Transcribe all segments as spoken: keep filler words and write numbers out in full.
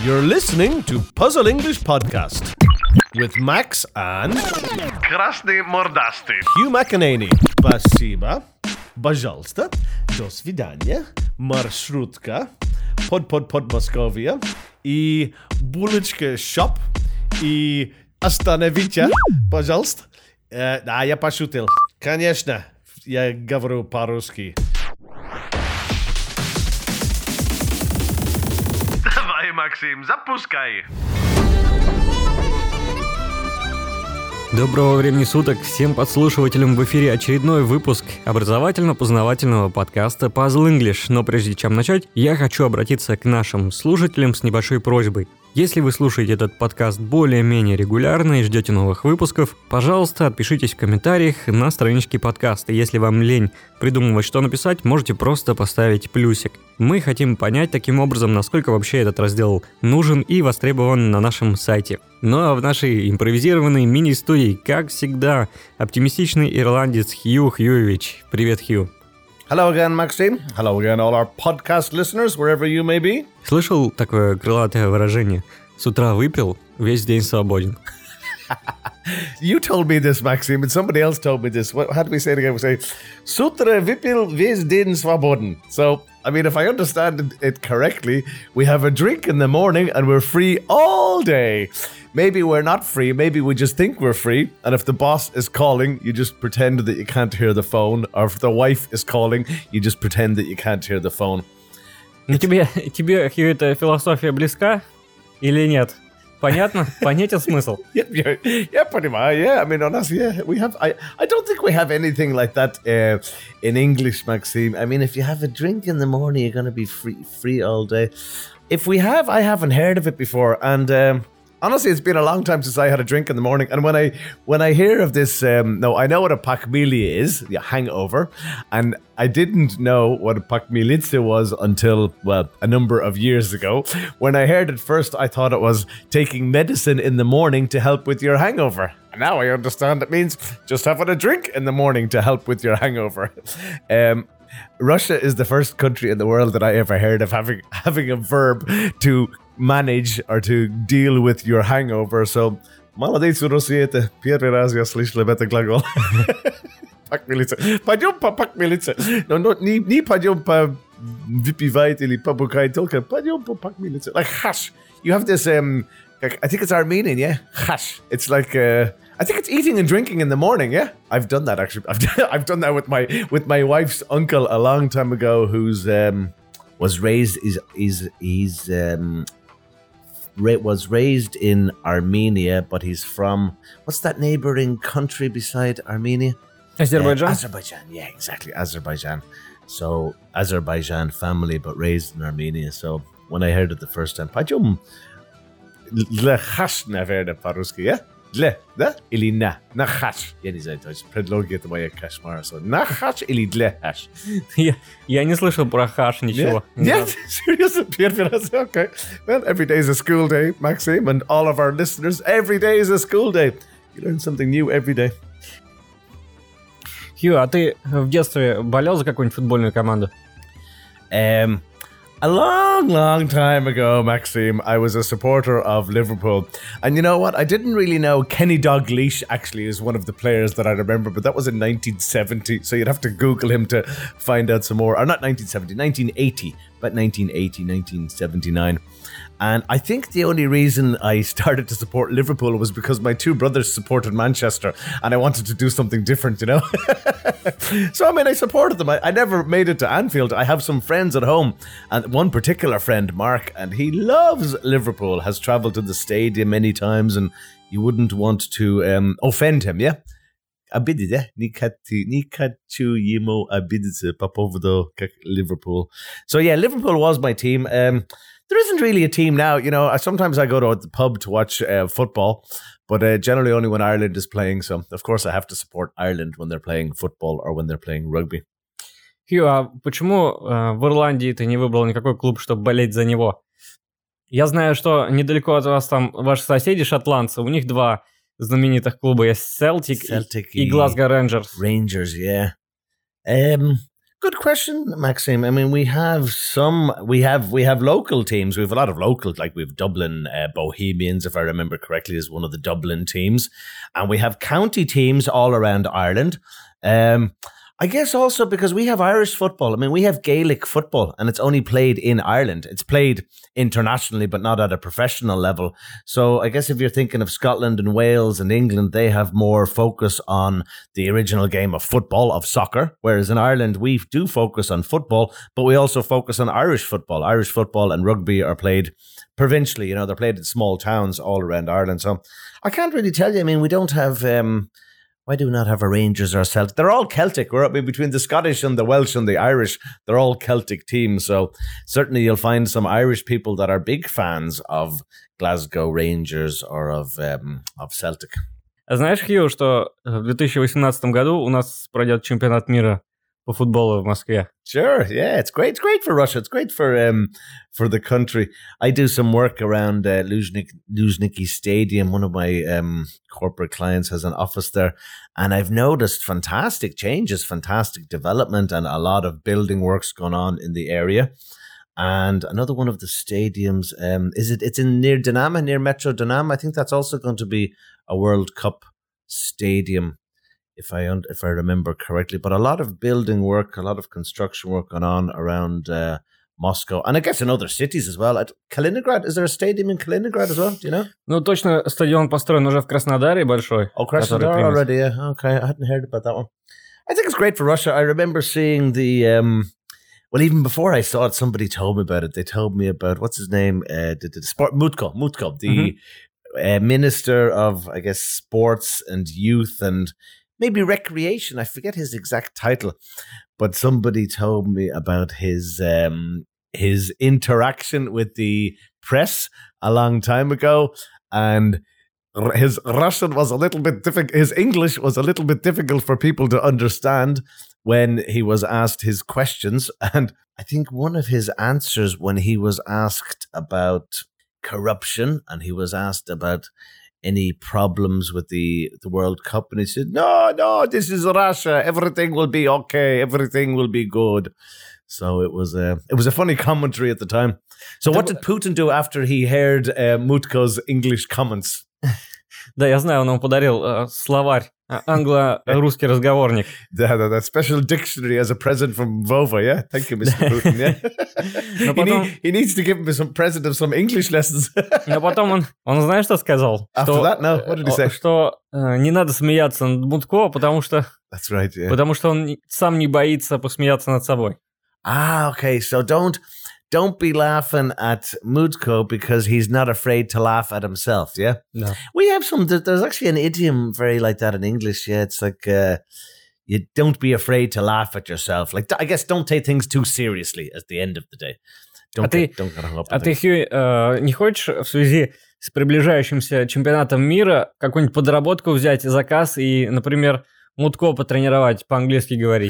You're listening to Puzzle English Podcast with Max and Красный мордастый. Hugh McEnany. Спасибо. Пожалуйста. До свидания. Маршрутка. Под-под-под Московия. И булочка шоп. И остановите, пожалуйста. Э, да, я пошутил. Конечно, я говорю по-русски. Давай, Максим, запускай. Доброго времени суток всем подслушивателям, в эфире очередной выпуск образовательно-познавательного подкаста Puzzle English. Но прежде чем начать, я хочу обратиться к нашим слушателям с небольшой просьбой. Если вы слушаете этот подкаст более-менее регулярно и ждете новых выпусков, пожалуйста, отпишитесь в комментариях на страничке подкаста. Если вам лень придумывать, что написать, можете просто поставить плюсик. Мы хотим понять таким образом, насколько вообще этот раздел нужен и востребован на нашем сайте. Ну а в нашей импровизированной мини-студии, как всегда, оптимистичный ирландец Хью Хьюевич. Привет, Хью. Hello again, Maxime. Hello again, all our podcast listeners, wherever you may be. Слышал такое крылатое выражение? С утра выпил, весь день свободен. You told me this, Maxime, and somebody else told me this. What, how do we say it again? We say, с утра выпил, весь день свободен. So, I mean, if I understand it correctly, we have a drink in the morning and we're free all day. Maybe we're not free, maybe we just think we're free, and if the boss is calling, you just pretend that you can't hear the phone, or if the wife is calling, you just pretend that you can't hear the phone. Ну тебе, тебе, Хью, эта философия близка или нет? Понятно? Понятен смысл? Yeah, yeah, yeah, pretty much. Yeah, I mean, on us, yeah, we have. I, I don't think we have anything like that uh, in English, Maxime. I mean, if you have a drink in the morning, you're going to be free, free all day. If we have, I haven't heard of it before, and um, honestly, it's been a long time since I had a drink in the morning. And when I when I hear of this, um, no, I know what a pachmilia is, yeah, hangover, and I didn't know what a pachmilica was until, well, a number of years ago. When I heard it first, I thought it was taking medicine in the morning to help with your hangover. And now I understand it means just having a drink in the morning to help with your hangover. Um, Russia is the first country in the world that I ever heard of having having a verb to manage or to deal with your hangover. So, молодец, Россия, это первый раз я слышал об этом глаголе. Пахмелица. Пойдем по пахмелице. Но, но не, не пойдем по выпивать или побухать, только пойдем по пахмелице. Like hash. You have this, um, I think it's Armenian, yeah? Hash. It's like, uh, I think it's eating and drinking in the morning, yeah? I've done that, actually. I've done, I've done that with my with my wife's uncle a long time ago, who's um, was raised, is is he's um, ra- was raised in Armenia, but he's from, what's that neighboring country beside Armenia? Azerbaijan? Uh, Azerbaijan, yeah, exactly, Azerbaijan. So, Azerbaijan family, but raised in Armenia. So, when I heard it the first time, пойдем для хаш, наверное, по-русски, yeah? Для, да? Или на? На хаш. Я не знаю, то есть предлоги это моя кошмар. So, на хаш или для хаш? Я, я не слышал про хаш ничего. Нет? Seriously? Первый раз? Okay. Well, every day is a school day, Maxime, and all of our listeners, every day is a school day. You learn something new every day. Хью, а ты в детстве болел за какую-нибудь футбольную команду? Um, a long, long time ago, Maxime, I was a supporter of Liverpool. And you know what? I didn't really know Kenny Dalglish actually is one of the players that I remember, but that was in nineteen seventy. So you'd have to Google him to find out some more. Or not nineteen seventy, nineteen eighty. But nineteen eighty, nineteen seventy-nine. And I think the only reason I started to support Liverpool was because my two brothers supported Manchester and I wanted to do something different, you know? So, I mean, I supported them. I, I never made it to Anfield. I have some friends at home, and one particular friend, Mark, and he loves Liverpool, has travelled to the stadium many times, and you wouldn't want to um, offend him, yeah? Обидеть, не хочу ему обидеться по поводу как Liverpool. So, yeah, Liverpool was my team. Um, There isn't really a team now, you know. Sometimes I go to the pub to watch uh, football, but uh, generally only when Ireland is playing. So, of course, I have to support Ireland when they're playing football or when they're playing rugby. Хью, а почему э, в Ирландии ты не выбрал никакой клуб, чтобы болеть за него? Я знаю, что недалеко от вас там ваши соседи шотландцы, у них два знаменитых клуба есть, Celtic, Celtic и, и Glasgow Rangers. Rangers, yeah. Um, good question, Maxime. I mean, we have some, we have we have local teams. We have a lot of local, like we have Dublin uh, Bohemians, if I remember correctly, is one of the Dublin teams, and we have county teams all around Ireland. Um, I guess also because we have Irish football. I mean, we have Gaelic football, and it's only played in Ireland. It's played internationally, but not at a professional level. So I guess if you're thinking of Scotland and Wales and England, they have more focus on the original game of football, of soccer, whereas in Ireland, we do focus on football, but we also focus on Irish football. Irish football and rugby are played provincially. You know, they're played in small towns all around Ireland. So I can't really tell you. I mean, we don't have... Um, Why do we not have a Rangers or Celtic? They're all Celtic. We're I mean, between the Scottish and the Welsh and the Irish. They're all Celtic teams. So certainly you'll find some Irish people that are big fans of Glasgow Rangers or of um, of Celtic. Знаешь, Хью, что в две тысячи восемнадцатом году у нас пройдет чемпионат мира по футболу в Москве? Sure, yeah, it's great. It's great for Russia. It's great for um for the country. I do some work around uh, Luzhnik, Luzhniki Stadium. One of my um corporate clients has an office there, and I've noticed fantastic changes, fantastic development, and a lot of building works going on in the area. And another one of the stadiums, um, is it? It's in near Dinamo, near Metro Dinamo. I think that's also going to be a World Cup stadium, if I if I remember correctly. But a lot of building work, a lot of construction work going on around uh, Moscow, and I guess in other cities as well. At Kaliningrad, is there a stadium in Kaliningrad as well? Do you know? Ну, точно, стадион построен уже в Краснодаре большой. Oh, Krasnodar already, yeah. Okay, I hadn't heard about that one. I think it's great for Russia. I remember seeing the... Um, well, even before I saw it, somebody told me about it. They told me about, what's his name? Uh, the, the sport Mutko, Mutko, the mm-hmm. uh, Minister of, I guess, Sports and Youth and maybe Recreation. I forget his exact title, but somebody told me about his um, his interaction with the press a long time ago, and his Russian was a little bit difficult. His English was a little bit difficult for people to understand when he was asked his questions. And I think one of his answers when he was asked about corruption and he was asked about any problems with the, the World Cup, and he said, no, no, this is Russia. Everything will be okay. Everything will be good. So it was a, it was a funny commentary at the time. So what did Putin do after he heard uh, Mutko's English comments? Да, я знаю, он ему подарил uh, словарь, англо-русский разговорник. Да, да, да, special dictionary as a present from Vova, yeah? Thank you, Mister Putin, yeah? Но потом... he, need, he needs to give him some present of some English lessons. Но потом он, он знаешь, что сказал? After что, that, no, what did he say? Что uh, не надо смеяться над Мутко, потому что... That's right, yeah. Потому что он сам не боится посмеяться над собой. Ah, okay, so don't... Don't be laughing at Mutko because he's not afraid to laugh at himself, yeah? No. We have some, there's actually an idiom very like that in English, yeah? It's like, uh, you don't be afraid to laugh at yourself. Like, I guess don't take things too seriously at the end of the day. Don't а get, ты, don't get hung up а ты, Хью, э, не хочешь в связи с приближающимся чемпионатом мира какую-нибудь подработку взять, заказ и, например, Мутко потренировать, по-английски говорить?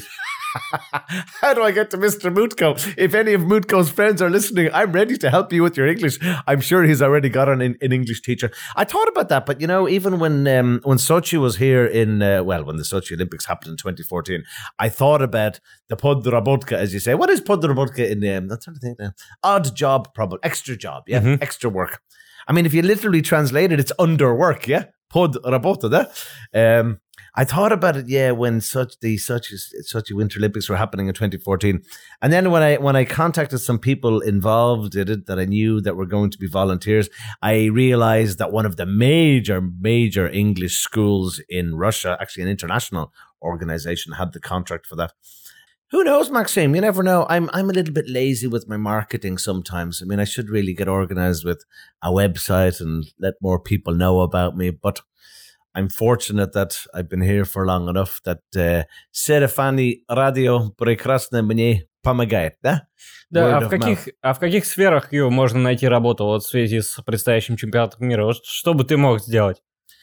How do I get to Mister Mutko? If any of Mutko's friends are listening, I'm ready to help you with your English. I'm sure he's already got an, an English teacher. I thought about that, but you know, even when um, when Sochi was here in, uh, well, when the Sochi Olympics happened in twenty fourteen, I thought about the podrabotka, as you say. What is podrabotka in, um, I'm trying to think now. Odd job, probably. Extra job, yeah? Mm-hmm. Extra work. I mean, if you literally translate it, it's under work, yeah? Podrabota, um I thought about it, yeah, when such the such such Winter Olympics were happening in twenty fourteen, and then when I when I contacted some people involved in it that I knew that were going to be volunteers, I realized that one of the major major English schools in Russia, actually an international organization, had the contract for that. Who knows, Maxime? You never know. I'm I'm a little bit lazy with my marketing sometimes. I mean, I should really get organized with a website and let more people know about me, but I'm fortunate that I've been here for long enough that Serafani Radio прекрасно мне помогает, да? Да, а в, каких, а в каких сферах, Ю, можно найти работу вот в связи с предстоящим чемпионатом мира? Вот что бы ты мог сделать?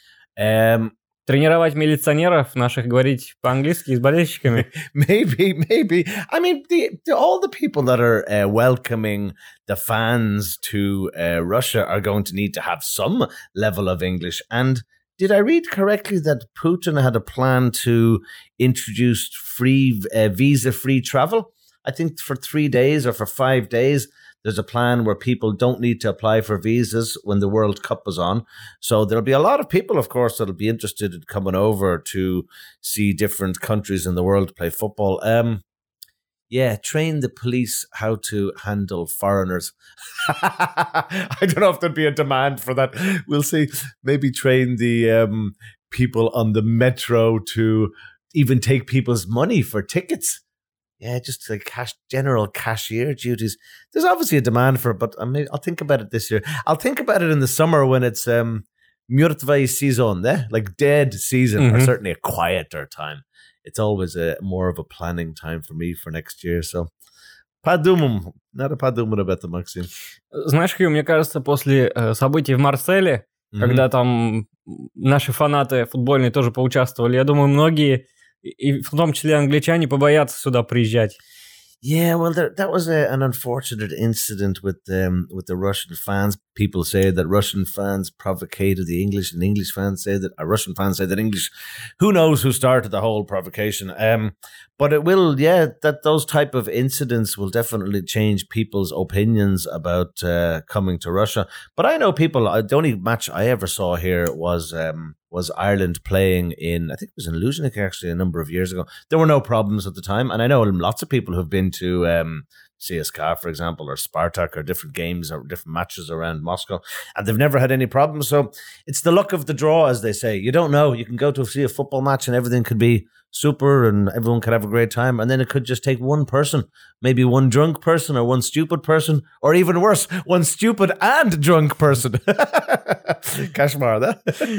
Um, Тренировать милиционеров наших, говорить по-английски с болельщиками? Maybe, maybe. I mean, the, the, all the people that are uh, welcoming the fans to uh, Russia are going to need to have some level of English. And did I read correctly that Putin had a plan to introduce free uh, visa-free travel? I think for three days or for five days, there's a plan where people don't need to apply for visas when the World Cup is on. So there'll be a lot of people, of course, that'll be interested in coming over to see different countries in the world play football. Um, yeah, train the police how to handle foreigners. I don't know if there'd be a demand for that. We'll see. Maybe train the um, people on the metro to even take people's money for tickets. Yeah, just like cash, general cashier duties. There's obviously a demand for it, but I mean, I'll think about it this year. I'll think about it in the summer when it's um, mŕtvý season, eh? Like dead season, mm-hmm. or certainly a quieter time. It's always a more of a planning time for me for next year. So, подумаем. Надо подумать об этом, Максим. Знаешь, Хью, мне кажется, после э, событий в Марселе, mm-hmm. когда там наши фанаты футбольные тоже поучаствовали, я думаю, многие, и в том числе англичане, побоятся сюда приезжать. Yeah, well, there, that was a, an unfortunate incident with um, with the Russian fans. People say that Russian fans provocated the English, and English fans say that uh, Russian fans say that English. Who knows who started the whole provocation? Um, but it will, yeah, that those type of incidents will definitely change people's opinions about uh, coming to Russia. But I know people. Uh, the only match I ever saw here was. Um, was Ireland playing in, I think it was in Luzhniki actually a number of years ago. There were no problems at the time. And I know lots of people who've been to um, C S K A, for example, or Spartak, or different games or different matches around Moscow, and they've never had any problems. So it's the luck of the draw, as they say. You don't know. You can go to see a football match and everything could be super and everyone could have a great time. And then it could just take one person, maybe one drunk person or one stupid person, or even worse, one stupid and drunk person. Кошмар, да?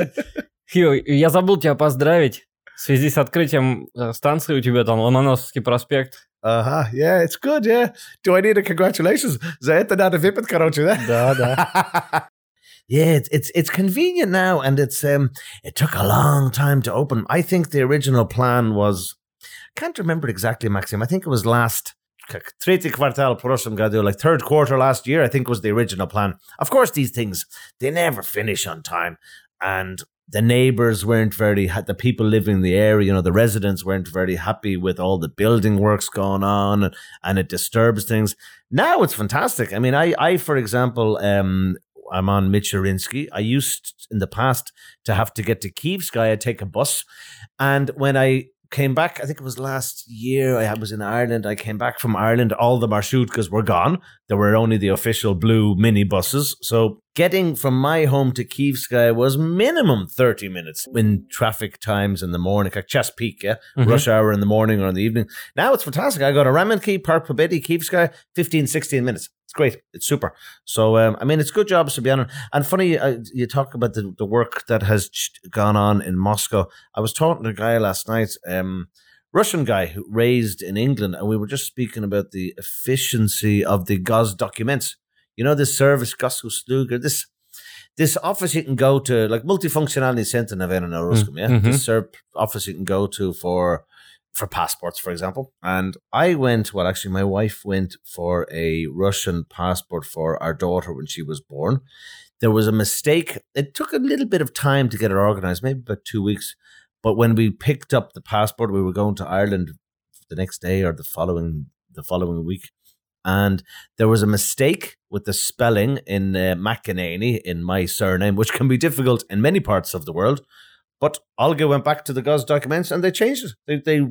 Хью, я забыл тебя поздравить в связи с открытием станции у тебя там, Ломоносовский проспект. Ага, uh-huh, yeah, it's good, yeah. Do I need a congratulations? За это надо выпить, короче, да? Да, да. Yeah, it's, it's it's convenient now, and it's um it took a long time to open. I think the original plan was, I can't remember exactly, Maxim. I think it was last третий квартал прошлом году, like third quarter last year, I think was the original plan. Of course, these things, they never finish on time, and the neighbors weren't very, the people living in the area, you know, the residents weren't very happy with all the building works going on, and, and it disturbs things. Now it's fantastic. I mean, I, I for example, um, I'm on Michurinsky. I used in the past to have to get to Kyivskaya, take a bus. And when I came back, I think it was last year, I was in Ireland. I came back from Ireland, all the marshrutkas were gone. There were only the official blue mini buses. So getting from my home to Kyivskaya was minimum thirty minutes in traffic times in the morning, like час peak, yeah? Mm-hmm. Rush hour in the morning or in the evening. Now it's fantastic. I go to Ramenki, Park Pobedi, Kyivskaya, fifteen, sixteen minutes. It's great. It's super. So, um, I mean, it's good jobs to be on. And funny, uh, you talk about the, the work that has gone on in Moscow. I was talking to a guy last night, um, Russian guy who raised in England, and we were just speaking about the efficiency of the Gosdocuments. You know, this service, Gosusluga, this this office you can go to, like multifunctionality center, naverno na ruskom, yeah? Mm-hmm. This ser- office you can go to for for passports, for example. And I went, well, actually, my wife went for a Russian passport for our daughter when she was born. There was a mistake. It took a little bit of time to get it organized, maybe about two weeks. But when we picked up the passport, we were going to Ireland the next day or the following the following week. And there was a mistake with the spelling in uh, McEnany in my surname, which can be difficult in many parts of the world. But Olga went back to the Gosdocuments and they changed it. They, they,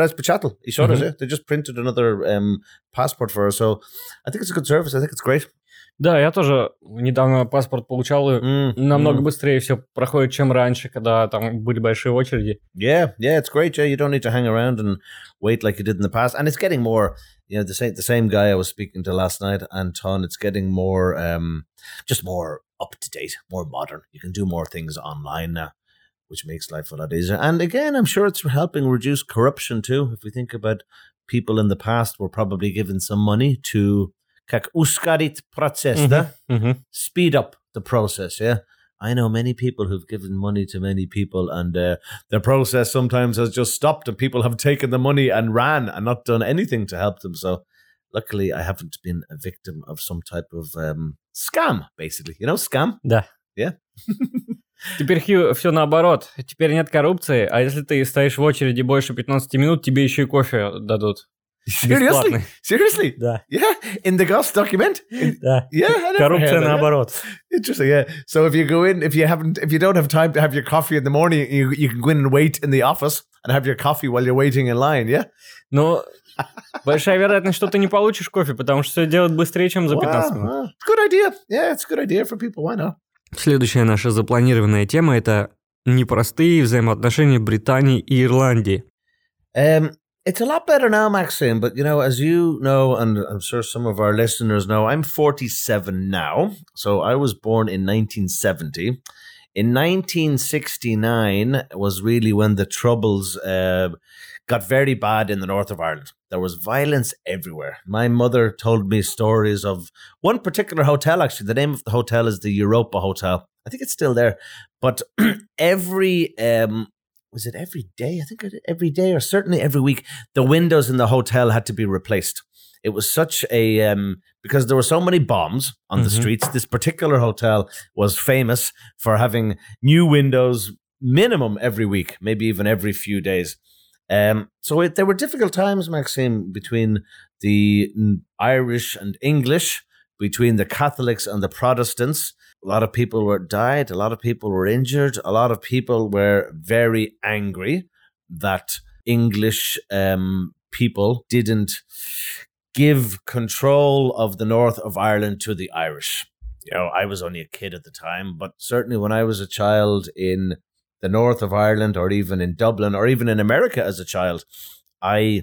mm-hmm. They just printed another um, passport for her. So I think it's a good service. I think it's great. Да, я тоже недавно паспорт получал, и mm, намного mm. быстрее все проходит, чем раньше, когда там были большие очереди. Yeah, yeah, it's great. Yeah, you don't need to hang around and wait like you did in the past. And it's getting more, you know, the same the same guy I was speaking to last night, Anton, it's getting more, um, just more up to date, more modern. You can do more things online now, which makes life a lot easier. And again, I'm sure it's helping reduce corruption too. If we think about people in the past were probably given some money to как ускорить процесс, mm-hmm. да? Mm-hmm. Speed up the process, yeah? I know many people who've given money to many people, and uh, the process sometimes has just stopped and people have taken the money and ran and not done anything to help them. So luckily I haven't been a victim of some type of um, scam, basically. You know, scam? Да. Yeah. Теперь, Хью, все наоборот. Теперь нет коррупции, а если ты стоишь в очереди больше пятнадцати минут, тебе еще и кофе дадут. Seriously? Seriously? Да. Yeah, in the Goss document? In- Да. Yeah, I never Коррупция heard that, yeah. наоборот. Interesting, yeah. So if you go in, if you haven't, if you don't have time to have your coffee in the morning, you you can go in and wait in the office and have your coffee while you're waiting in line, yeah? Но большая вероятность, что ты не получишь кофе, потому что все делают быстрее, чем за пятнадцать Wow, минут. wow. It's a good idea. Yeah, it's a good idea for people. Why not? Следующая наша запланированная тема – это непростые взаимоотношения Британии и Ирландии. Um, it's a lot better now, Maxime, but you know, as you know, and I'm sure some of our listeners know, I'm forty-seven now. So I was born in nineteen seventy. In nineteen sixty-nine was really when the Troubles uh, got very bad in the north of Ireland. There was violence everywhere. My mother told me stories of one particular hotel, actually. The name of the hotel is the Europa Hotel. I think it's still there. But every, um, was it every day? I think every day or certainly every week, the windows in the hotel had to be replaced. It was such a, um, because there were so many bombs on the Mhm. streets, this particular hotel was famous for having new windows minimum every week, maybe even every few days. Um, so it, there were difficult times, Maxime, between the mm, Irish and English, between the Catholics and the Protestants. A lot of people were died. A lot of people were injured. A lot of people were very angry that English um, people didn't give control of the north of Ireland to the Irish. You know, I was only a kid at the time, but certainly when I was a child in the north of Ireland, or even in Dublin, or even in America as a child, I,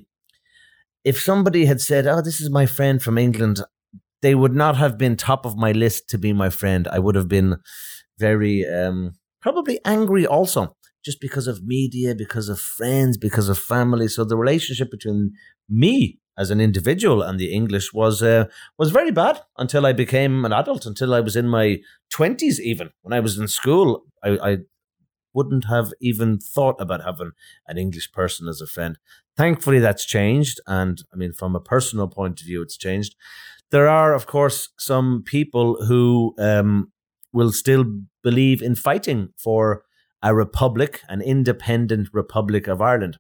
if somebody had said, "Oh, this is my friend from England," they would not have been top of my list to be my friend. I would have been very, um, probably angry also, just because of media, because of friends, because of family. So the relationship between me as an individual and the English was uh, was very bad until I became an adult, until I was in my twenties even. When I was in school, I, I wouldn't have even thought about having an English person as a friend. Thankfully, that's changed. And I mean, from a personal point of view, it's changed. There are, of course, some people who um, will still believe in fighting for a republic, an independent Republic of Ireland.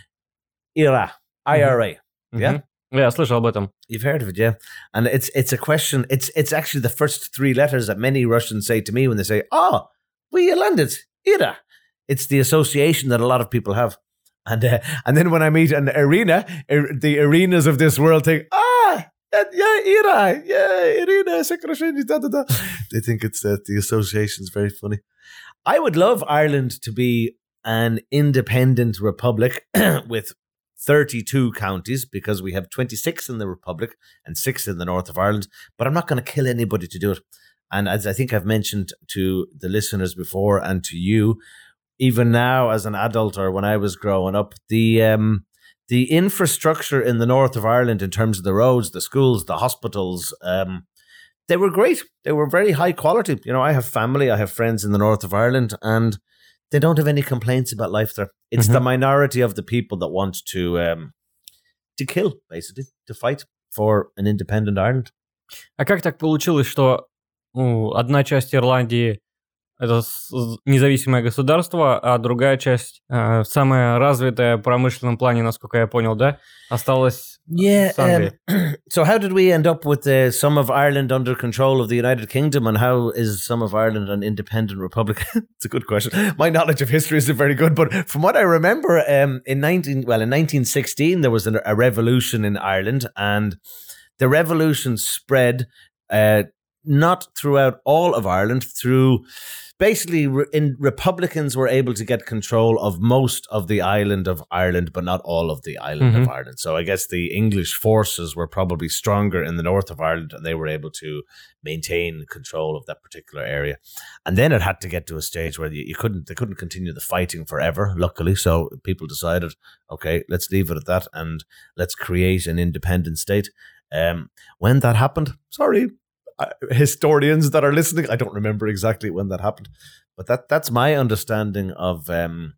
I R A, I R A. Yeah? Мгм. Я слышал об этом. You've heard of it, yeah. And it's it's a question, it's it's actually the first three letters that many Russians say to me when they say, "Oh, we landed, I R A." It's the association that a lot of people have. And uh, and then when I meet an arena, er, the arenas of this world think, "Ah, yeah, I R A, yeah, arena, Sekrashini, da da da." They think it's that uh, the association is very funny. I would love Ireland to be an independent republic with thirty-two counties, because we have twenty-six in the Republic and six in the north of Ireland, but I'm not going to kill anybody to do it. And as I think I've mentioned to the listeners before and to you, even now as an adult or when I was growing up, the um, the infrastructure in the north of Ireland in terms of the roads, the schools, the hospitals, um, they were great. They were very high quality. You know, I have family, I have friends in the north of Ireland, and they don't have any complaints about life there. It's Mhm. the minority of the people that want to um, to kill, basically, to fight for an independent Ireland. А как так получилось, что ну, одна часть Ирландии это с- независимое государство, а другая часть, э, самая развитая в промышленном плане, насколько я понял, да, осталась Yeah. с Англией? Um, so how did we end up with uh, some of Ireland under control of the United Kingdom, and how is some of Ireland an independent republic? It's a good question. My knowledge of history isn't very good, but from what I remember, um, in nineteen well in nineteen sixteen there was an, a revolution in Ireland, and the revolution spread uh, not throughout all of Ireland, through basically re- in, Republicans were able to get control of most of the island of Ireland, but not all of the island Mhm. of Ireland. So I guess the English forces were probably stronger in the north of Ireland, and they were able to maintain control of that particular area. And then it had to get to a stage where you, you couldn't, they couldn't continue the fighting forever, luckily. So people decided, okay, let's leave it at that and let's create an independent state. Um, when that happened, sorry, uh, historians that are listening, I don't remember exactly when that happened, but that that's my understanding of um,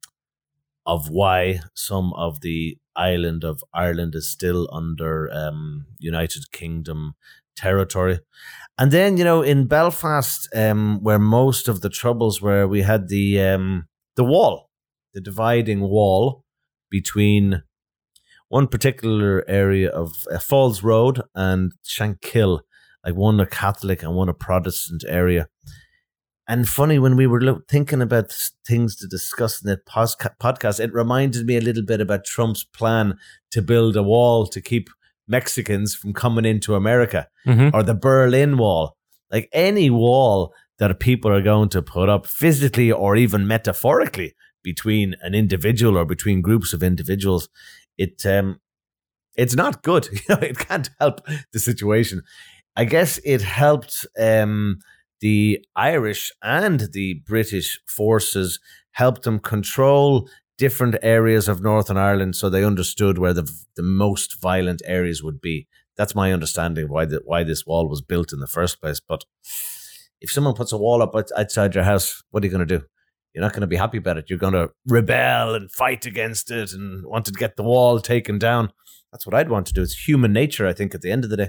of why some of the island of Ireland is still under um, United Kingdom territory. And then, you know, in Belfast, um, where most of the troubles were, we had the um, the wall, the dividing wall between one particular area of uh, Falls Road and Shankill, like one a Catholic and one a Protestant area. And funny, when we were lo- thinking about things to discuss in that posca- podcast, it reminded me a little bit about Trump's plan to build a wall to keep Mexicans from coming into America, Mm-hmm. or the Berlin Wall. Like any wall that people are going to put up physically or even metaphorically between an individual or between groups of individuals, it um, it's not good. You know, it can't help the situation. I guess it helped um, the Irish and the British forces, helped them control different areas of Northern Ireland, so they understood where the the most violent areas would be. That's my understanding of why the, why this wall was built in the first place. But if someone puts a wall up outside your house, what are you going to do? You're not going to be happy about it. You're going to rebel and fight against it and want to get the wall taken down. That's what I'd want to do. It's human nature, I think, at the end of the day.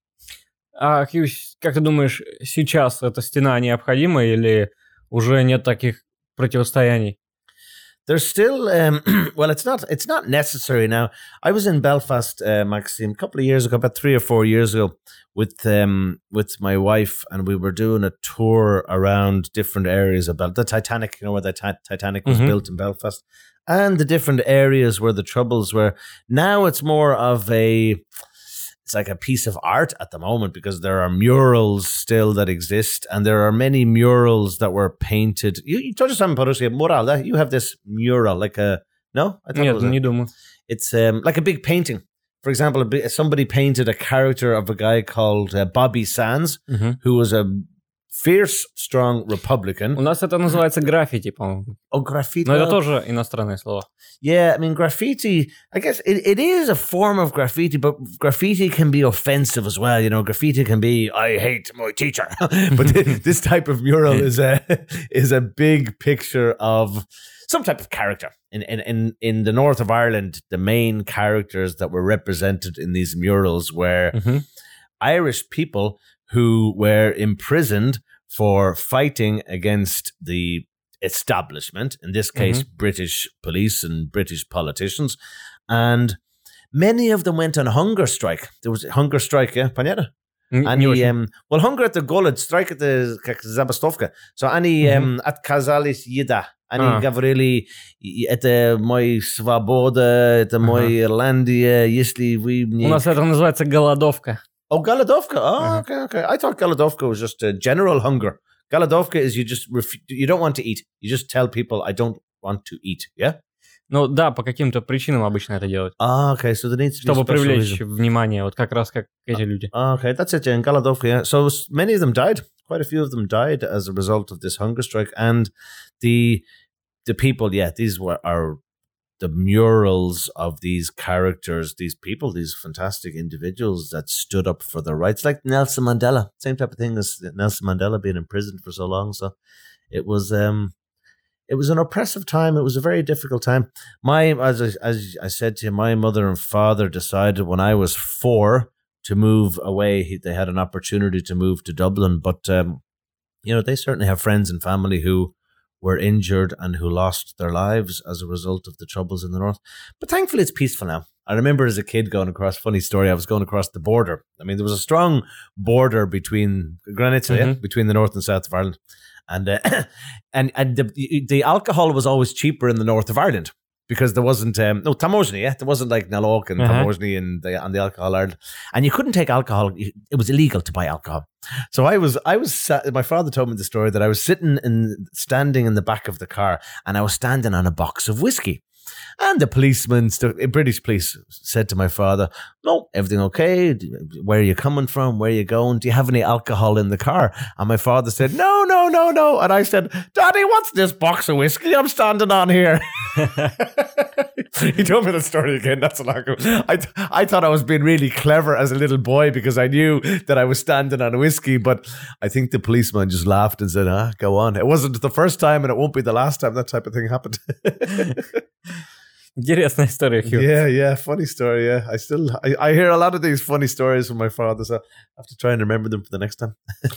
А Хьюз, как ты думаешь, сейчас эта стена необходима или уже нет таких противостояний? There's still, um, well, it's not it's not necessary now. I was in Belfast, uh, Maxime, a couple of years ago, about three or four years ago, with um, with my wife, and we were doing a tour around different areas of Bel- the Titanic, you know, where the ti- Titanic was Mhm. built in Belfast, and the different areas where the troubles were. Now it's more of a, it's like a piece of art at the moment, because there are murals still that exist, and there are many murals that were painted. You, you touched on Parusia mural. eh? You have this mural, like a no? I thought it Нет, was a- не думаю. it's um, like a big painting. For example, a bi- somebody painted a character of a guy called uh, Bobby Sands, Мгм. who was a fierce, strong Republican. У нас это называется граффити, по-моему. Oh, graffiti. Но это well, тоже иностранное слово. Yeah, I mean, graffiti, I guess it, it is a form of graffiti, but graffiti can be offensive as well. You know, graffiti can be, I hate my teacher. But thi- this type of mural is a is a big picture of some type of character. In, in, in, in the north of Ireland, the main characters that were represented in these murals were Мгм. Irish people who were imprisoned for fighting against the establishment, in this case, British police and British politicians. And many of them went on hunger strike. There was a hunger strike, yeah, понятно? Н- And Не he, очень. um, well, hunger at the Gullet, strike at the как забастовка. So они um, отказались еда. Они А. говорили, это мой свобода, это мой Ирландия, если вы У мне... нас это называется голодовка. Oh, Galadovka. Oh, Uh-huh. okay, okay. I thought Galadovka was just a general hunger. Galadovka is you just ref- you don't want to eat. You just tell people I don't want to eat. Yeah. Ну да, по каким-то причинам обычно это делают. Ah, okay. So there needs to be a Чтобы special привлечь reason. внимание, вот как раз как эти люди. Ah, okay, that's it. Yeah, in Galadovka. Yeah. So s- many of them died. Quite a few of them died as a result of this hunger strike, and the the people. Yeah, these were are the murals of these characters, these people, these fantastic individuals that stood up for their rights, like Nelson Mandela. Same type of thing as Nelson Mandela being imprisoned for so long. So it was um it was an oppressive time. It was a very difficult time. My as I, as I said to you, my mother and father decided when I was four to move away. He- They had an opportunity to move to Dublin, but um, you know, they certainly have friends and family who were injured and who lost their lives as a result of the troubles in the north. But thankfully, it's peaceful now. I remember as a kid going across, funny story, I was going across the border. I mean, there was a strong border between Granitza, yeah, Mhm. between the north and south of Ireland. And uh, and and the, the alcohol was always cheaper in the north of Ireland because there wasn't, um, no, Tamoshni, yeah? There wasn't like Nalok and Uh-huh. Tamoshni and the, on the alcohol Ireland. And you couldn't take alcohol. It was illegal to buy alcohol. So I was, I was, sat, my father told me the story that I was sitting in, standing in the back of the car and I was standing on a box of whiskey. And the policeman, st- British police, said to my father, no, everything okay? Where are you coming from? Where are you going? Do you have any alcohol in the car? And my father said, no, no, no, no. And I said, Daddy, what's this box of whiskey I'm standing on here? He told me the story again. That's a lot ago. I, th- I thought I was being really clever as a little boy because I knew that I was standing on a whiskey. But I think the policeman just laughed and said, ah, go on. It wasn't the first time and it won't be the last time that type of thing happened. Интересная история, Хью. Yeah, yeah, funny story. Yeah, I still I, I hear a lot of these funny stories from my father, so I have to try and remember them for the next time.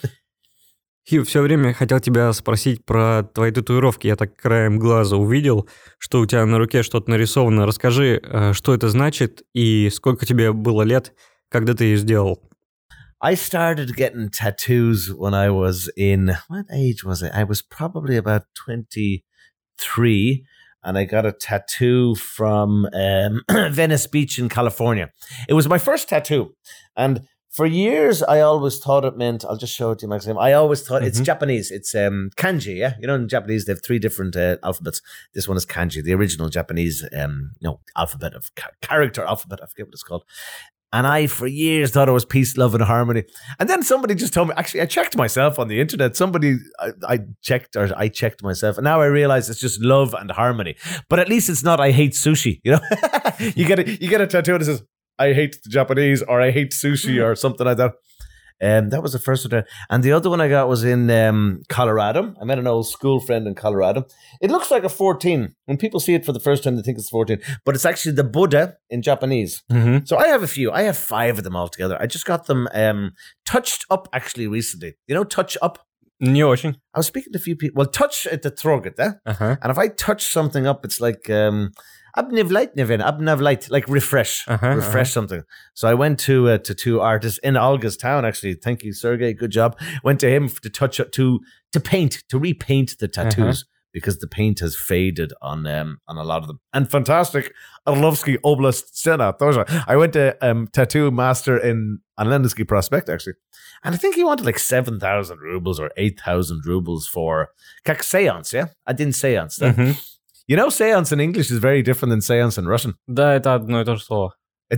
Хью, все время хотел тебя спросить про твои татуировки. Я так краем глаза увидел, что у тебя на руке что-то нарисовано. Расскажи, что это значит и сколько тебе было лет, когда ты ее сделал? I started getting tattoos when I was in, what age was I? I was probably about twenty-three, and I got a tattoo from um, Venice Beach in California. It was my first tattoo, and for years I always thought it meant, I'll just show it to you, Maxim. I always thought, mm-hmm. It's Japanese, it's um, kanji, yeah? You know, in Japanese they have three different uh, alphabets. This one is kanji, the original Japanese um, no, alphabet of ca- character alphabet, I forget what it's called. And I, for years, thought it was peace, love, and harmony. And then somebody just told me, actually, I checked myself on the internet. Somebody, I, I checked, or I checked myself. And now I realize it's just love and harmony. But at least it's not, I hate sushi, you know? you get a, you get a tattoo that says, I hate the Japanese, or I hate sushi, or something like that. Um, that was the first one. And the other one I got was in um, Colorado. I met an old school friend in Colorado. It looks like a fourteen. When people see it for the first time, they think it's fourteen. But it's actually the Buddha in Japanese. Mm-hmm. So I have a few. I have five of them altogether. I just got them um, touched up actually recently. You know, touch up? Не очень. I was speaking to a few people. Well, touch at the throat, eh? Uh-huh. And if I touch something up, it's like... Um, Abnivlight, Nivin, Abnavlight, like refresh, uh-huh, refresh uh-huh. something. So I went to uh, to two artists in Olga's town. Actually, thank you, Sergey. Good job. Went to him to touch up to to paint to repaint the tattoos uh-huh. because the paint has faded on um on a lot of them. And fantastic, Orlovsky Oblast Sena. I went to um tattoo master in on Lendisky Prospect actually, and I think he wanted like seven thousand rubles or eight thousand rubles for kak seance. Yeah, I didn't seance. Mm-hmm. You know, seance in English is very different than seance in Russian. Да, это одно и то же слово.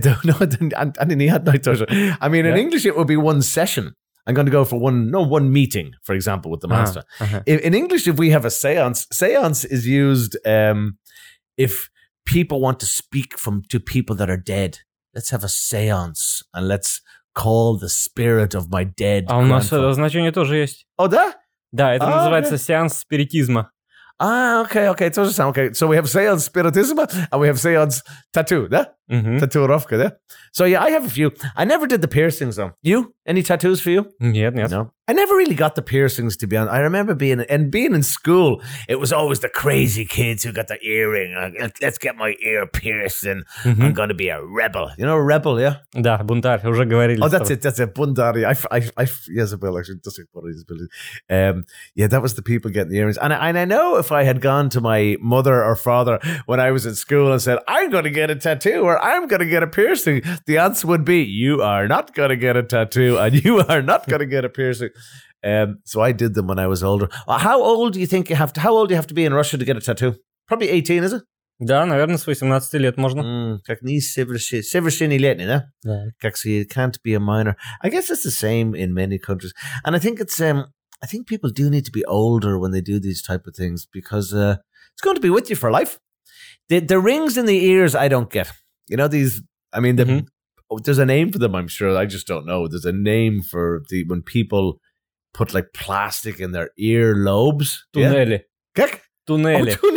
I mean, in yeah. English, it would be one session. I'm going to go for one, no, one meeting, for example, with the master. Uh-huh. Uh-huh. In, in English, if we have a seance, seance is used um, if people want to speak from to people that are dead. Let's have a seance and let's call the spirit of my dead. А у нас это значение тоже есть. Oh, да? Да, это ah, называется okay. сеанс спиритизма. Ah, okay, okay. It's also okay. So we have seance spiritism and we have seance tattoo, yeah? Mm-hmm. Tattoorovka, yeah? So yeah, I have a few. I never did the piercings though. You? Any tattoos for you? Нет, нет. No. I never really got the piercings, to be honest. I remember being and being in school, it was always the crazy kids who got the earring. Uh, let's get my ear pierced and mm-hmm. I'm going to be a rebel. You know, a rebel, yeah? Да, бунтарь, уже говорили. Oh, that's it, that's it. Bundari. I, I, I, yes, I will actually. That's it. Um, yeah, that was the people getting the earrings. And I, and I know if I had gone to my mother or father when I was in school and said, I'm going to get a tattoo or I'm going to get a piercing, the answer would be, you are not going to get a tattoo and you are not going to get a piercing. Um, so I did them when I was older. How old do you think you have to, how old do you have to be in Russia to get a tattoo? Probably eighteen, is it? Да, наверное, с восемнадцати лет можно. Mm, как не совершеннолетний, да? Да. Как so you can't be a minor. I guess it's the same in many countries. And I think it's, um, I think people do need to be older when they do these type of things because uh, it's going to be with you for life. The, the rings in the ears, I don't get. You know, these, I mean, the, mm-hmm. oh, there's a name for them, I'm sure. I just don't know. There's a name for the when people put like plastic in their ear lobes. Tunneli. Yeah? Tunneli. Oh,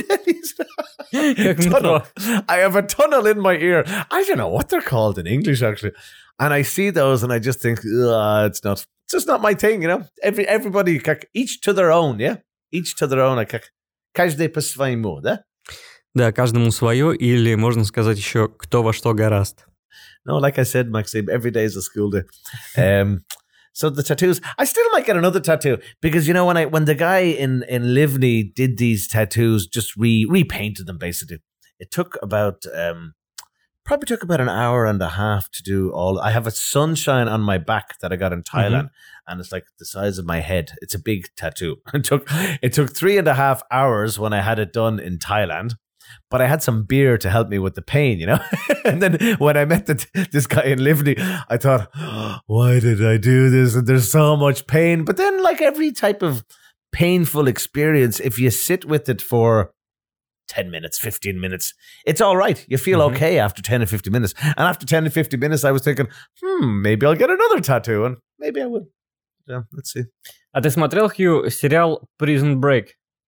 tunnel. I have a tunnel in my ear. I don't know what they're called in English, actually. And I see those and I just think, it's not, it's just not my thing, you know? Every Everybody, each to their own, yeah? Each to their own. Каждый по своему, да? Да, каждому свое, или можно сказать еще, кто во что горазд. No, like I said, Maxime, every day is a school day. Um, so the tattoos, I still might get another tattoo because, you know, when I when the guy in, in Livni did these tattoos, just re repainted them basically. It took about, um, probably took about an hour and a half to do all. I have a sunshine on my back that I got in Thailand mm-hmm. and it's like the size of my head. It's a big tattoo. It took, it took three and a half hours when I had it done in Thailand. But I had some beer to help me with the pain, you know? And then when I met the, this guy in Livni, I thought, oh, why did I do this? And there's so much pain. But then like every type of painful experience, if you sit with it for ten minutes, fifteen minutes, it's all right. You feel mm-hmm. okay after ten or fifteen minutes. And after ten or fifteen minutes, I was thinking, hmm, maybe I'll get another tattoo. And maybe I will. Yeah, let's see. А ты смотрел, Хью, сериал Prison Break?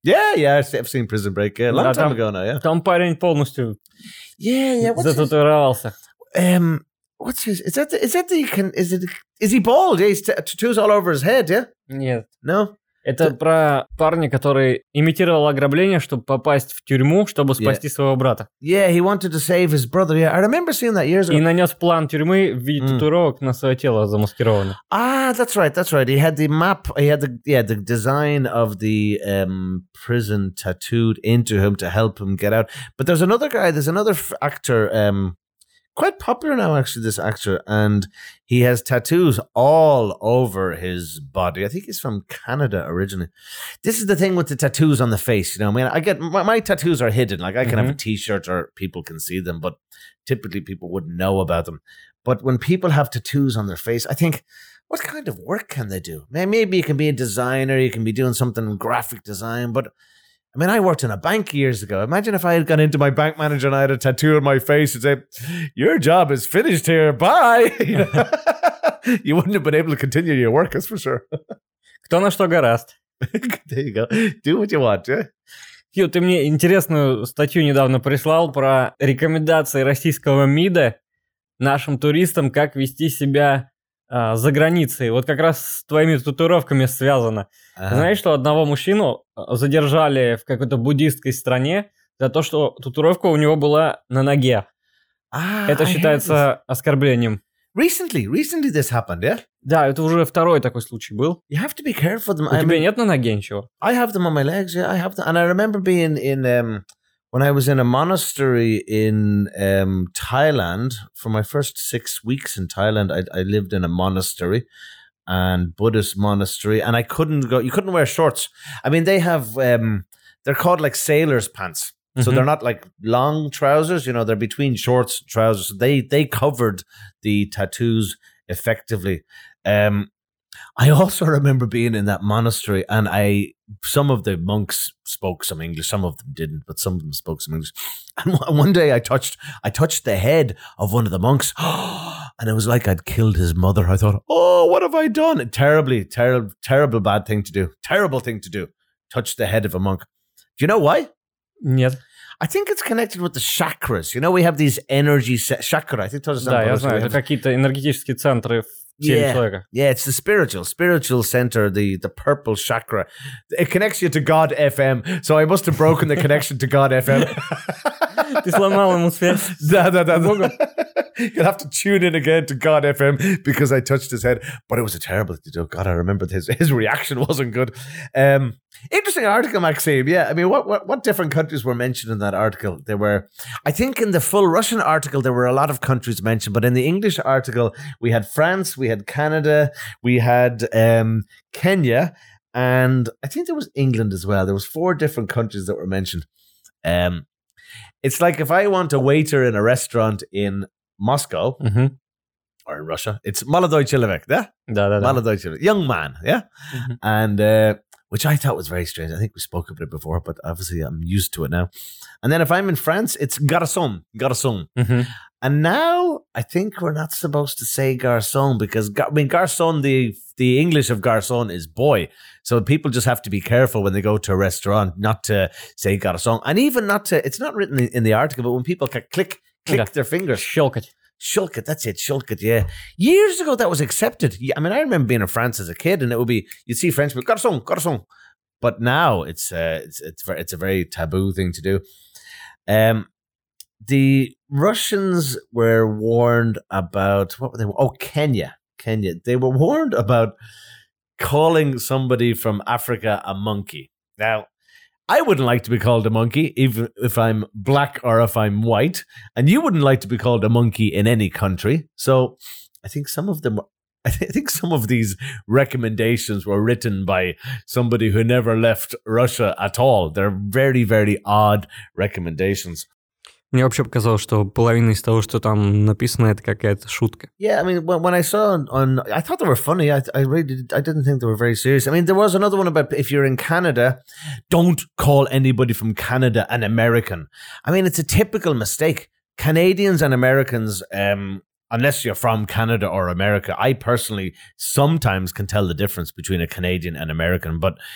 Yeah, yeah, I've seen Prison Break. Yeah, a long Да, time там- ago now, yeah. Там парень полностью Yeah, yeah. What's his, зататуировался. um, what's his? Is that the, is that the? Can, is it? Is he bald? Yeah, he's t- tattoos all over his head. Yeah. Нет. No. Это про парня, который имитировал ограбление, чтобы попасть в тюрьму, чтобы спасти своего брата. Yeah, he wanted to save his brother. Yeah, I remember seeing that years ago. И нанес план тюрьмы в виде Mm. татуировок на свое тело замаскированно. Ah, that's right. That's right. He had the map. He had the yeah the design of the um, prison tattooed into him to help him get out. But there's another guy. There's another f- actor. Um, quite popular now, actually. This actor, and he has tattoos all over his body. I think he's from Canada originally. This is the thing with the tattoos on the face. You know, I mean, I get my, my tattoos are hidden. Like I can have a T-shirt or people can see them, but typically people wouldn't know about them. But when people have tattoos on their face, I think, what kind of work can they do? May- Maybe you can be a designer, you can be doing something in graphic design, but I mean, I worked in a bank years ago. Imagine if I had gone into my bank manager and I had a tattoo on my face and say, your job is finished here, bye. You know? You wouldn't have been able to continue your work, that's for sure. Кто на что гораст. There you go. Do what you want, yeah? Фью, ты мне интересную статью недавно прислал про рекомендации российского МИДа нашим туристам, как вести себя а, за границей. Вот как раз с твоими татуировками связано. Uh-huh. Знаешь, что одного мужчину задержали в какой-то буддистской стране за то, что татуировка у него была на ноге. Ah, Это I heard считается оскорблением. this. Recently, recently this happened, yeah? Да, это уже второй такой случай был. You have to be careful. Them. У I тебя mean, нет на ноге ничего? I have them on my legs, yeah. I have them. And I remember being in, um, when I was in a monastery in um, Thailand, for my first six weeks in Thailand, I, I lived in a monastery and Buddhist monastery, and I couldn't go, you couldn't wear shorts. I mean, they have, um, they're called like sailor's pants. So Mhm. they're not like long trousers, you know, they're between shorts and trousers. They, they covered the tattoos effectively. Um, I also remember being in that monastery, and I some of the monks spoke some English, some of them didn't, but some of them spoke some English. And one- one day I touched I touched the head of one of the monks, and it was like I'd killed his mother. I thought, oh, what have I done? Terribly, terrible, terrible, bad thing to do. Terrible thing to do. Touch the head of a monk. Do you know why? Нет. I think it's connected with the chakras. You know, we have these energy se- chakra. I think those Да, я знаю, это какие-то энергетические центры в теле Yeah. человека. Yeah, it's the spiritual, spiritual center, the the purple chakra. It connects you to God F M. So I must have broken the connection to God F M. Ты сломал ему связь. Da, da, da, da. Богом. You'll have to tune in again to God F M because I touched his head. But it was a terrible thing to do. God, I remember his his reaction wasn't good. Um, interesting article, Maxime. Yeah, I mean, what, what what different countries were mentioned in that article? There were, I think, in the full Russian article there were a lot of countries mentioned, but in the English article we had France, we had Canada, we had um, Kenya, and I think there was England as well. There was four different countries that were mentioned. Um, it's like if I want a waiter in a restaurant in Moscow Мгм. or in Russia, it's Молодой человек, yeah? Да-да-да. Молодой человек, young man, yeah? Мгм. And uh, which I thought was very strange. I think we spoke about it before, but obviously I'm used to it now. And then if I'm in France, it's garçon, garçon. Мгм. And now I think we're not supposed to say garçon because gar- I mean garçon, the the English of garçon is boy. So people just have to be careful when they go to a restaurant not to say garçon, and even not to. It's not written in, in the article, but when people ca- click click Yeah. their fingers, Щелкать. shulk it. That's it, shulk it. Yeah, years ago that was accepted. Yeah, I mean, I remember being in France as a kid, and it would be you'd see French people garçon, garçon. But now it's uh, it's it's very, it's a very taboo thing to do. Um, the Russians were warned about what were they? Oh, Kenya, Kenya. They were warned about calling somebody from Africa a monkey. Now, I wouldn't like to be called a monkey, even if I'm black or if I'm white, and you wouldn't like to be called a monkey in any country. So, I think some of them. I thi- I think some of these recommendations were written by somebody who never left Russia at all. They're very, very odd recommendations. Мне вообще показалось, что половина из того, что там написано, это какая-то шутка. Yeah, I mean, when, when I saw on, on, I thought they were funny. I, I really, did, I didn't think they were very serious. I mean, there was another one about if you're in Canada, don't call anybody from Canada an American. I mean, it's a typical mistake. Canadians and Americans, um, unless you're from Canada or America, I personally sometimes can tell the difference between a Canadian and American, but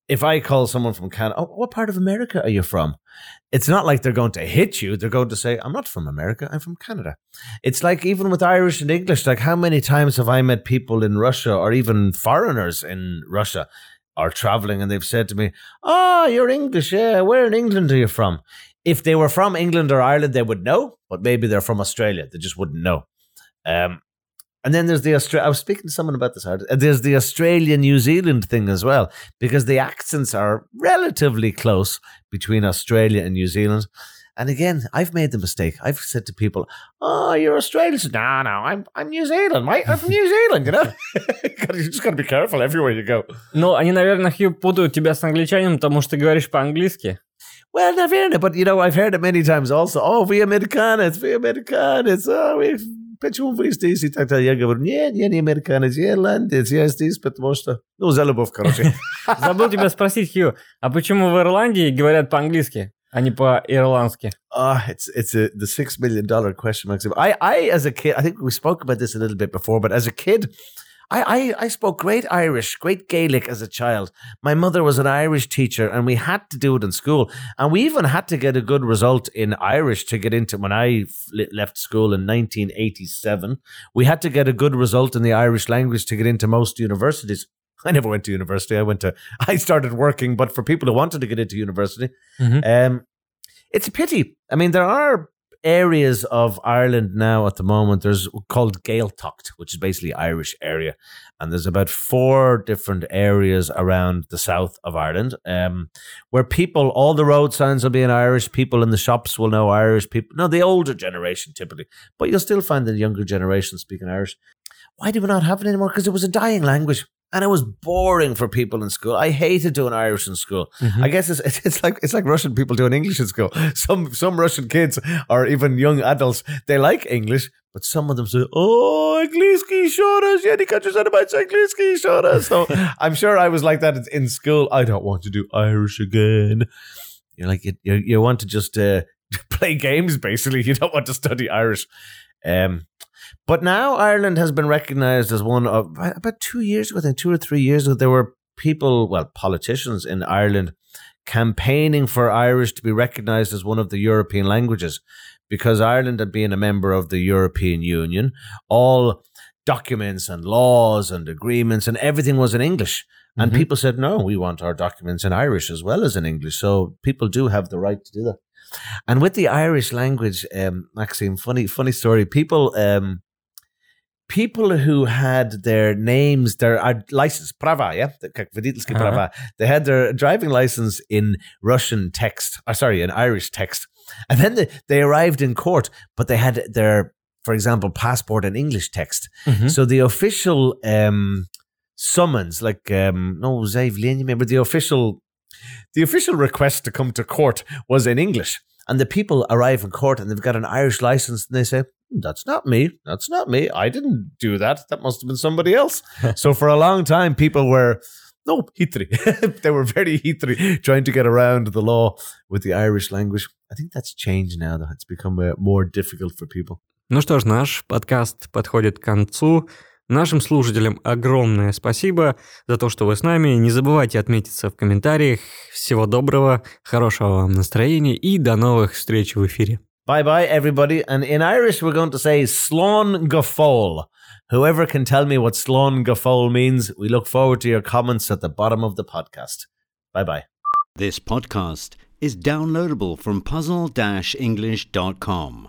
if I call someone from Canada, oh, what part of America are you from? It's not like they're going to hit you. They're going to say, I'm not from America. I'm from Canada. It's like even with Irish and English, like how many times have I met people in Russia or even foreigners in Russia are traveling and they've said to me, oh, you're English. Yeah, where in England are you from? If they were from England or Ireland, they would know, but maybe they're from Australia. They just wouldn't know. Um, and then there's the Austra- I was speaking to someone about this. There's the Australia-New Zealand thing as well, because the accents are relatively close between Australia and New Zealand. And again, I've made the mistake. I've said to people, oh, you're Australian. No, no, I'm I'm New Zealand, mate. I'm from New Zealand, you know? You just got to be careful everywhere you go. Ну, они, наверное, Хью, путают тебя с англичанином, потому что ты говоришь по-английски. Well, наверное, but, you know, I've heard it many times also. Oh, we Americans, we Americans. Oh, we... Почему вы здесь? И так далее. Я говорю, нет, я не американец, я ирландец, я здесь, потому что... Ну, за любовь, короче. Забыл тебя спросить, Хью, а почему в Ирландии говорят по-английски, а не по-ирландски? Oh, it's it's a, the six million dollar question, Maxim. I, I, as a kid, I think we spoke about this a little bit before, but as a kid, I, I, I spoke great Irish, great Gaelic as a child. My mother was an Irish teacher and we had to do it in school. And we even had to get a good result in Irish to get into, when I left school in nineteen eighty-seven, we had to get a good result in the Irish language to get into most universities. I never went to university. I went to, I started working, but for people who wanted to get into university, mm-hmm. um, it's a pity. I mean, there are areas of Ireland now at the moment. There's called Gaeltacht, which is basically Irish area. And there's about four different areas around the south of Ireland um, where people, all the road signs will be in Irish. People in the shops will know Irish. People, no, the older generation typically. But you'll still find the younger generation speaking Irish. Why do we not have it anymore? Because it was a dying language. And it was boring for people in school. I hated doing Irish in school. Mm-hmm. I guess it's it's like it's like Russian people doing English in school. Some some Russian kids or even young adults, they like English, but some of them say, "Oh, Angliski shoras, yeah, can't you say about Angliski shoras?" So I'm sure I was like that in school. I don't want to do Irish again. You're like you you, you want to just uh, play games, basically. You don't want to study Irish. Um, but now Ireland has been recognised as one of, about two years ago, I think two or three years ago, there were people, well, politicians in Ireland campaigning for Irish to be recognised as one of the European languages, because Ireland had been a member of the European Union. All documents and laws and agreements and everything was in English. And mm-hmm. people said, no, we want our documents in Irish as well as in English. So people do have the right to do that. And with the Irish language, um, Maxime, funny, funny story. People, um, people who had their names, their uh, license, prava, yeah, uh-huh. prava, they had their driving license in Russian text, or sorry, in Irish text, and then they, they arrived in court, but they had their, for example, passport in English text. Mm-hmm. So the official um, summons, like um, no, remember the official. The official request to come to court was in English, and the people arrive in court and they've got an Irish license and they say, that's not me, that's not me, I didn't do that, that must have been somebody else. So for a long time, people were, no, hitri. They were very hitri, trying to get around the law with the Irish language. I think that's changed now, though. It's become uh, more difficult for people. Ну что ж, наш подкаст подходит к концу. Нашим слушателям огромное спасибо за то, что вы с нами. Не забывайте отметиться в комментариях. Всего доброго, хорошего вам настроения и до новых встреч в эфире. Bye-bye, everybody. And in Irish, we're going to say Slán go fóill. Whoever can tell me what Slán go fóill means, we look forward to your comments at the bottom of the podcast. Bye-bye. This podcast is downloadable from puzzle dash english dot com.